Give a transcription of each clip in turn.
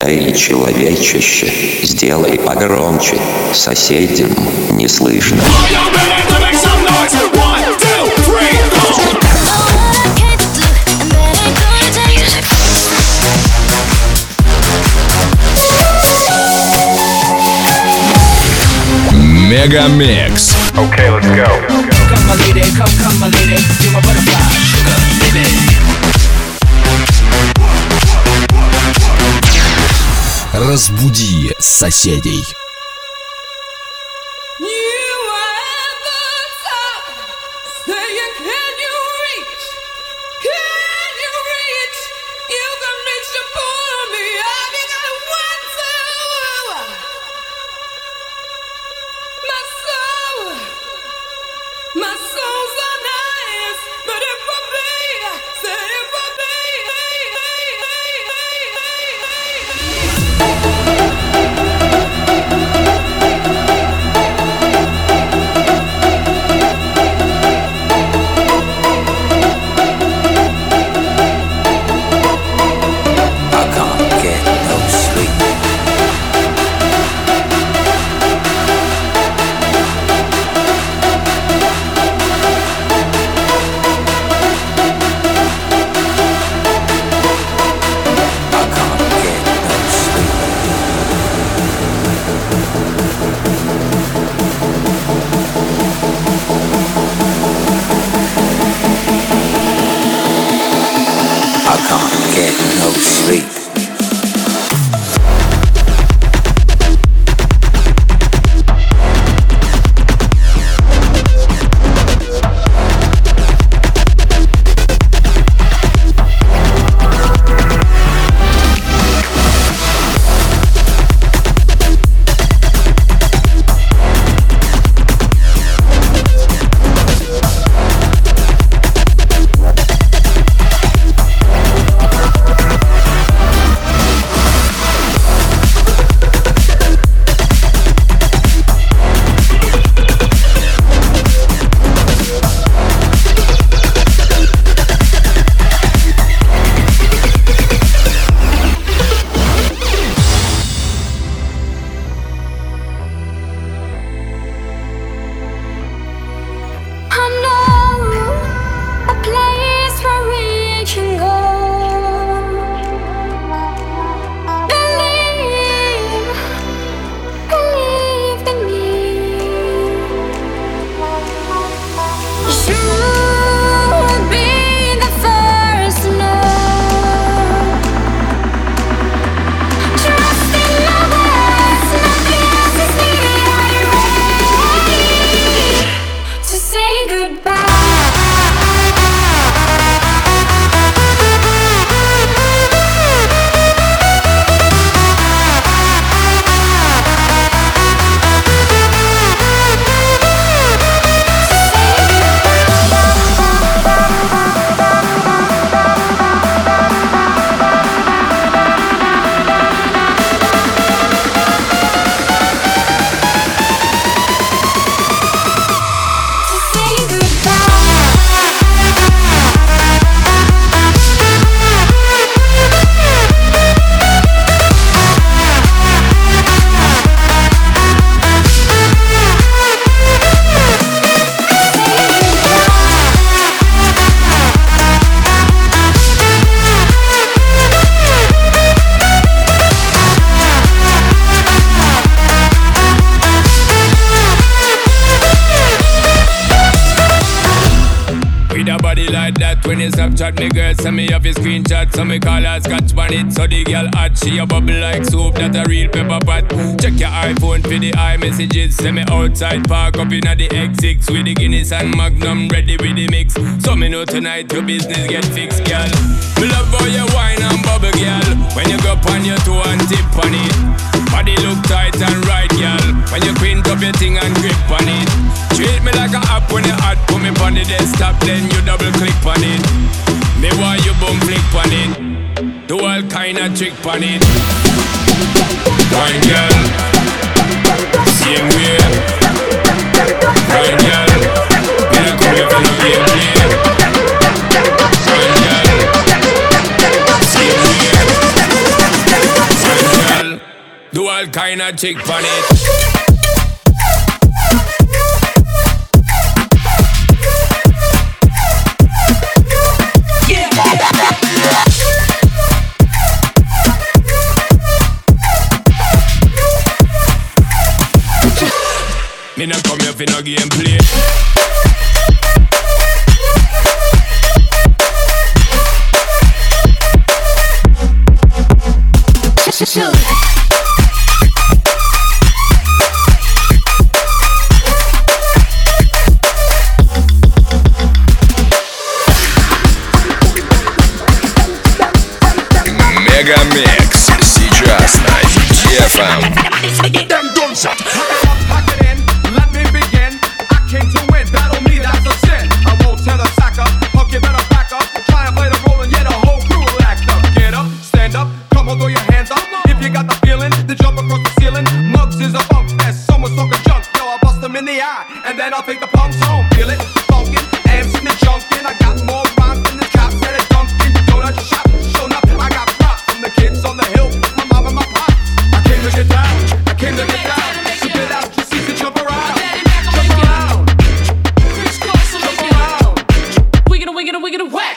Эй, человечище, сделай погромче, соседям не слышно. Мегамикс. Okay, let's go. Come my lady, come my lady, you're my butterfly, sugar, baby. Разбуди соседей. When you Snapchat me girl, send me off your screenshot. So me call her scotch bonnet. So the girl hot, she a bubble like soap. That a real pepper pot. Check your iPhone for the iMessages. Send me outside, park up in the X6 with the Guinness and Magnum ready with the mix. So me know tonight your business get fixed, girl. Me love how you wine and bubble, girl. When you go up on your toe and tip on it. Body look tight and right, girl. When you print up your thing and grip on it. Treat me like a app when you hot. Put me on the desktop, then you double click on it. Me want you boom flick on it. Do all kind of trick on it. Wine girl, same way. Wine girl, me not come here for no game play. Wine girl, same way. Wine girl. Do all kind of chick on it. Me not come here for no gameplay. Мегамикс сейчас на DFM. Let me begin. I came to win. Battle me, that's a sin. I won't tell a sack up. Punk, you better back up. Try and play the role and yet a whole crew will act up. Get up, stand up, come on, throw your hands up. If you got the feeling, then jump across the ceiling. Muggs is a funk fest. Someone's talking junk. Yo, I'll bust them in the eye. And then I'll take the punks home. Feel it? Funkin', amps in the junkin'. I got more rhymes than the cops at a Dunkin'. Donut shop, shown up. I got props from the kids on the hill. My mom and my pop. I came to get down. I came to get down. Spit out your seats and jump around. Wiggin' whack.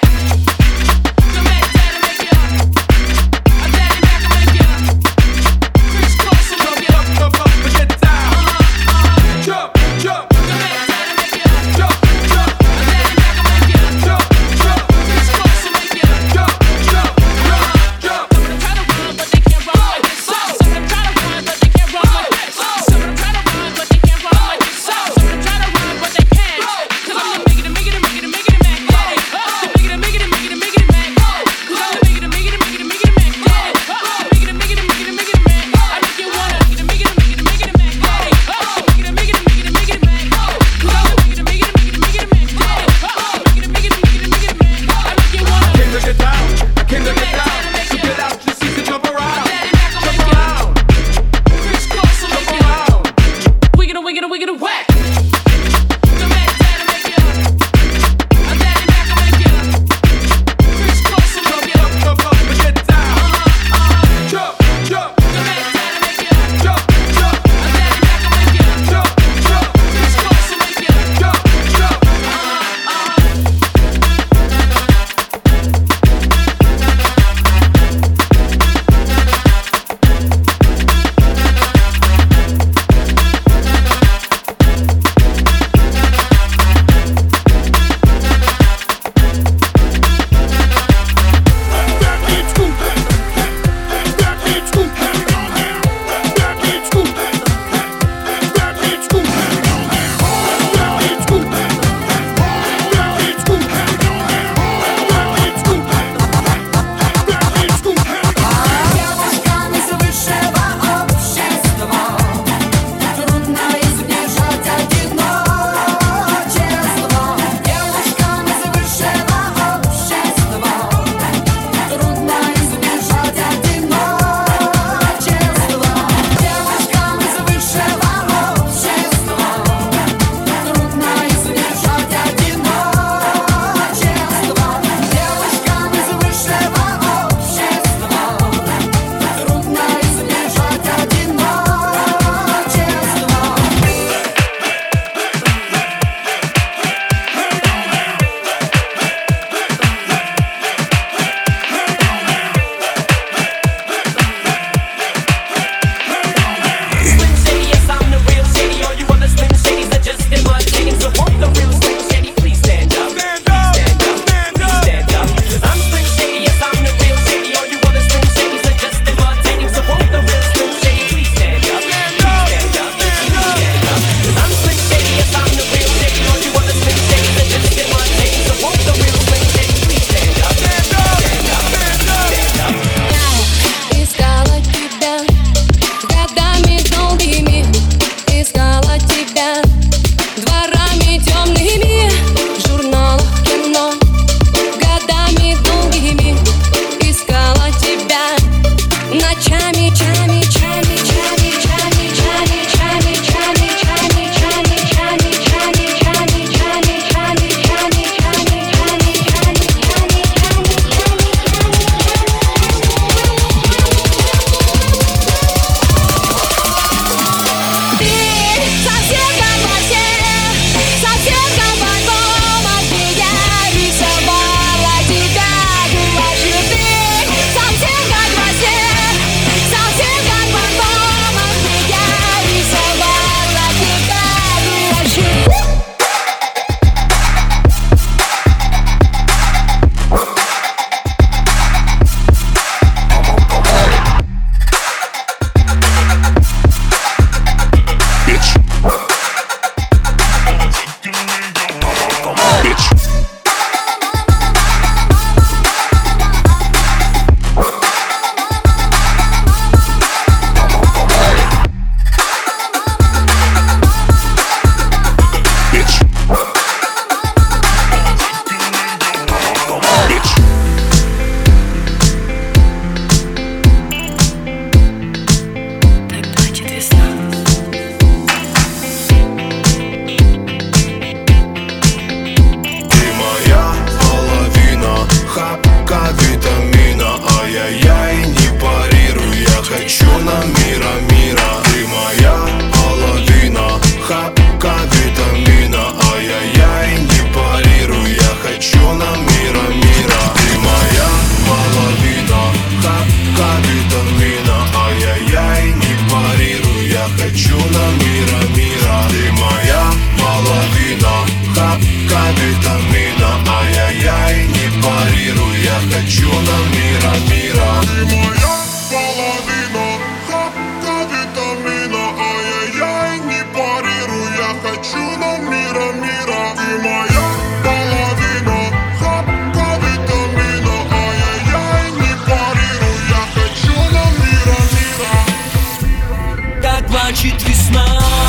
нам мира, мира. Ты моя половина, хапка витамина. Ай-яй-яй, не парируй, я хочу нам мира, мира. Ты моя половина, хапка витамина. Ай-яй-яй, не парируй, я хочу нам мира, мира. Ты моя половина, хапка витамина. Ай-яй-яй, не парируй, я хочу нам мира, мира. Ты моя половина, хапка витамина. Ай-яй-яй, не парируй, я хочу нам мира, мира. Ты моя половина, хапка витамина. Ай-яй-яй, не парируй, я хочу нам мира, мира. Так плачет весна,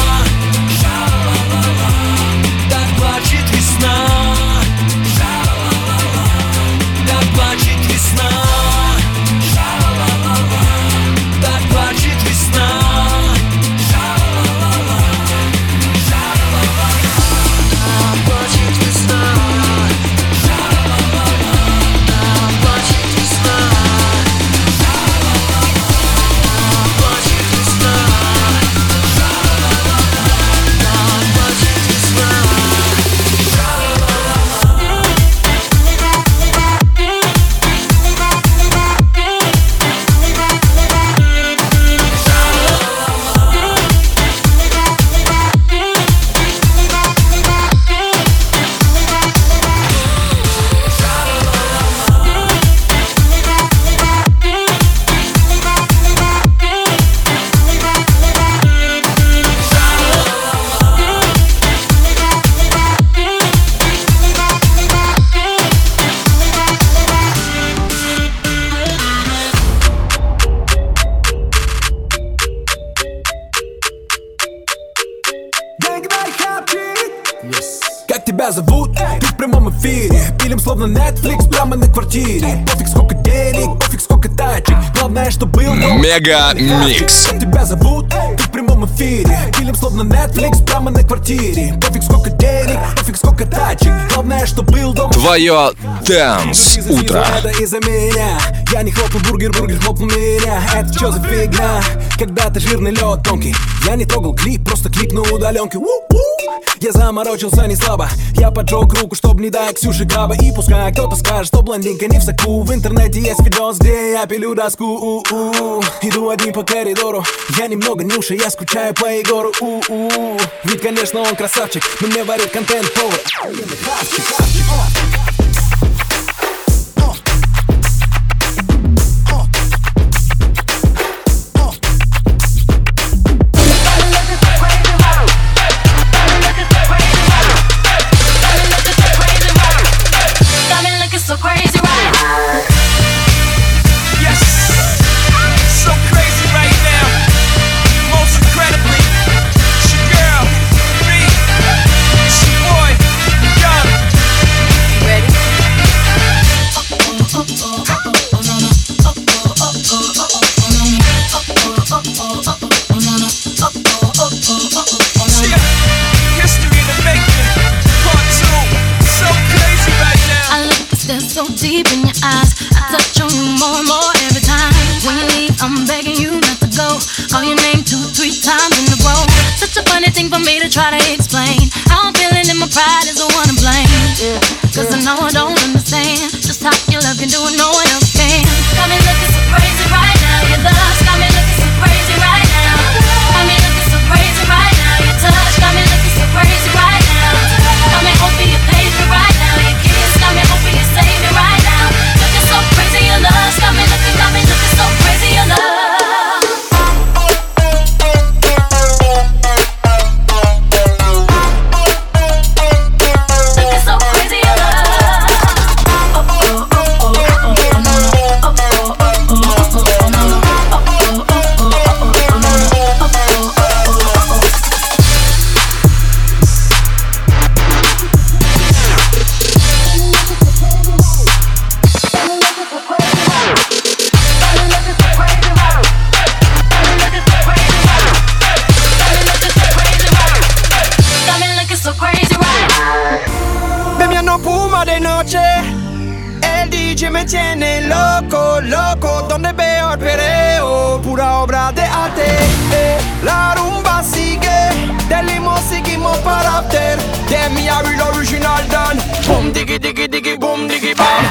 так плачет весна, так плачет весна, так плачет весна. Как тебя зовут? Ты в прямом эфире. Пилим словно Netflix прямо на квартире. Пофиг сколько денег, пофиг сколько тачек. Главное, что был дом. Мега Микс. Как тебя зовут? Ты в прямом эфире. Пилим словно Netflix прямо на квартире. Пофиг сколько денег, пофиг сколько тачек. Главное, что был дом. Твое Dance утро. Это из-за меня. Я не хлопнул бургер хлопнул меня. Это что за фигня? Когда-то жирный лед тонкий. Я не трогал клип, просто клип на удаленке. Я заморочился не слабо. Я поджег руку, чтоб не дать Ксюше краба. И пускай кто-то скажет, что блондинка не в соку. В интернете есть видос, где я пилю доску. Иду один по коридору. Я немного нюша, я скучаю по Егору. Ведь, конечно, он красавчик, но мне варит контент-повар. So deep in your eyes, I touch on you more and more every time. When you leave, I'm begging you not to go. Call your name 2-3 times in a row. Such a funny thing for me to try to explain. How I'm feeling and my pride is the one to blame. Cause I know I don't understand just how your love can do it, no one else can. Got me looking so crazy right now. Your love's got me looking so crazy right now. Got me looking so crazy right now. Your touch got me looking so crazy right now. Got me hoping you page me right now. Your kiss got me hoping you save me right now. Looking so crazy, your love's got me looking so crazy, your love. Me tiene loco, loco, donde veo el pereo, pura obra de La rumba sigue, del limón seguimos para after. De mi real original done. Boom diggy diggy diggy boom diggy bam.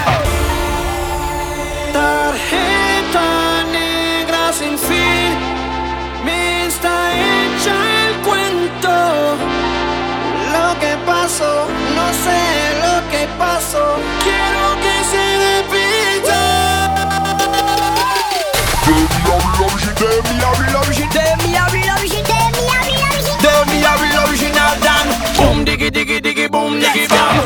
Tarjeta negra sin fin, me está hecha el cuento. Lo que pasó, no sé lo que pasó. Quiero que se repita. De mi real original done. Boom diggy diggy diggy boom diggy bam.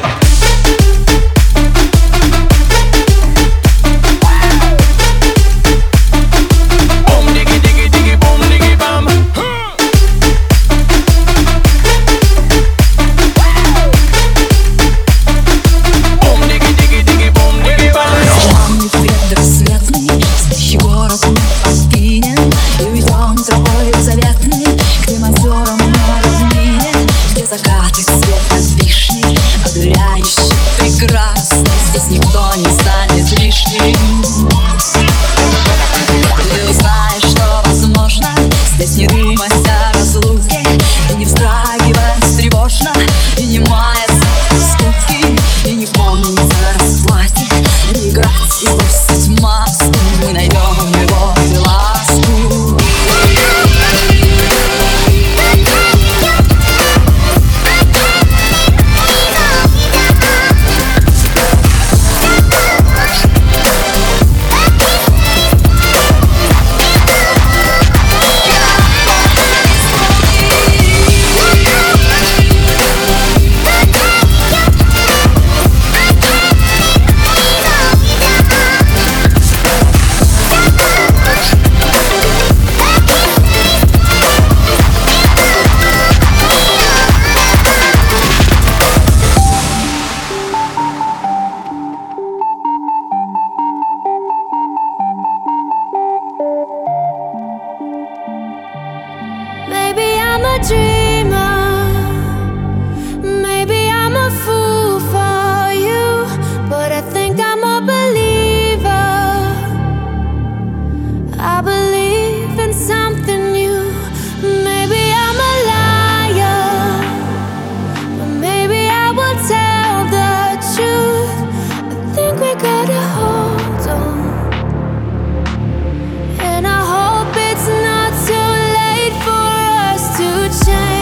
Закаты, свет от вишни, одуряющий, прекрасный. Здесь никто не станет лишним. Ты узнаешь, что возможно. Здесь не думать о разлуке, и не вздрагивать тревожно, и не маяться от скуки, и не помнить о расплате, и играть, и бросить маску. Мы найдем любовь и ласку. And I hope it's not too late for us to change.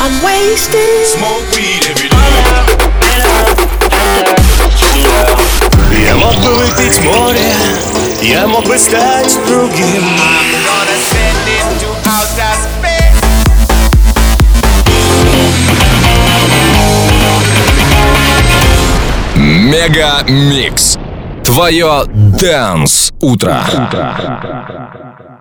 I'm wasted. Smoke weed every day. Я мог бы выпить море, я мог бы стать другим. I'm gonna send it to outer space. Мега Микс. Твое Dance утро.